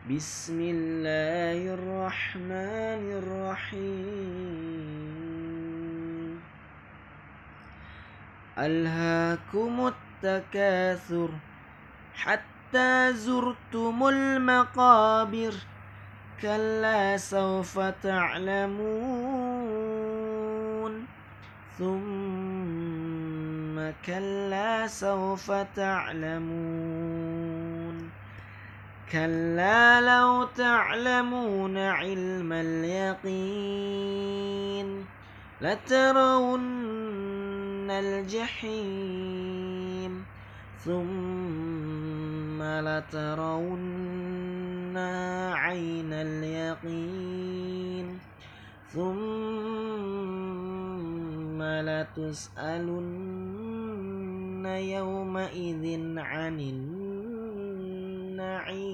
بسم الله الرحمن الرحيم ألهاكم التكاثر حتى زرتم المقابر كلا سوف تعلمون ثم كلا سوف تعلمون كلا لو تعلمون علم اليقين لترون الجحيم ثم لترون عين اليقين ثم لتسألن يومئذ عن النعيم